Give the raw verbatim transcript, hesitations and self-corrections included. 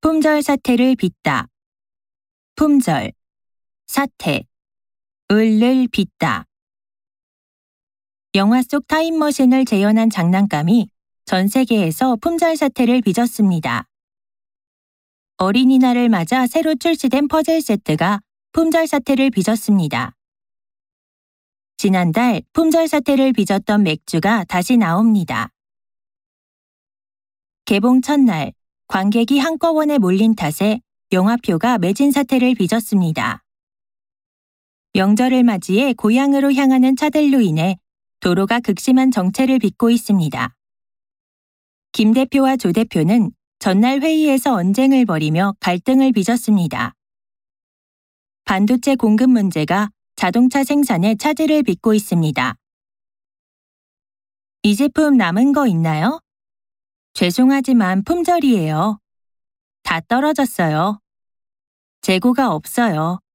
품절 사태를 빚다. 품절, 사태, 을을 빚다. 영화 속 타임머신을 재현한 장난감이 전 세계에서 품절 사태를 빚었습니다. 어린이날을 맞아 새로 출시된 퍼즐 세트가 품절 사태를 빚었습니다. 지난달 품절 사태를 빚었던 맥주가 다시 나옵니다. 개봉 첫날 관객이 한꺼번에 몰린 탓에 영화표가 매진 사태를 빚었습니다. 명절을 맞이해 고향으로 향하는 차들로 인해 도로가 극심한 정체를 빚고 있습니다. 김 대표와 조 대표는 전날 회의에서 언쟁을 벌이며 갈등을 빚었습니다. 반도체 공급 문제가 자동차 생산에 차질을 빚고 있습니다. 이 제품 남은 거 있나요? 죄송하지만 품절이에요. 다 떨어졌어요. 재고가 없어요.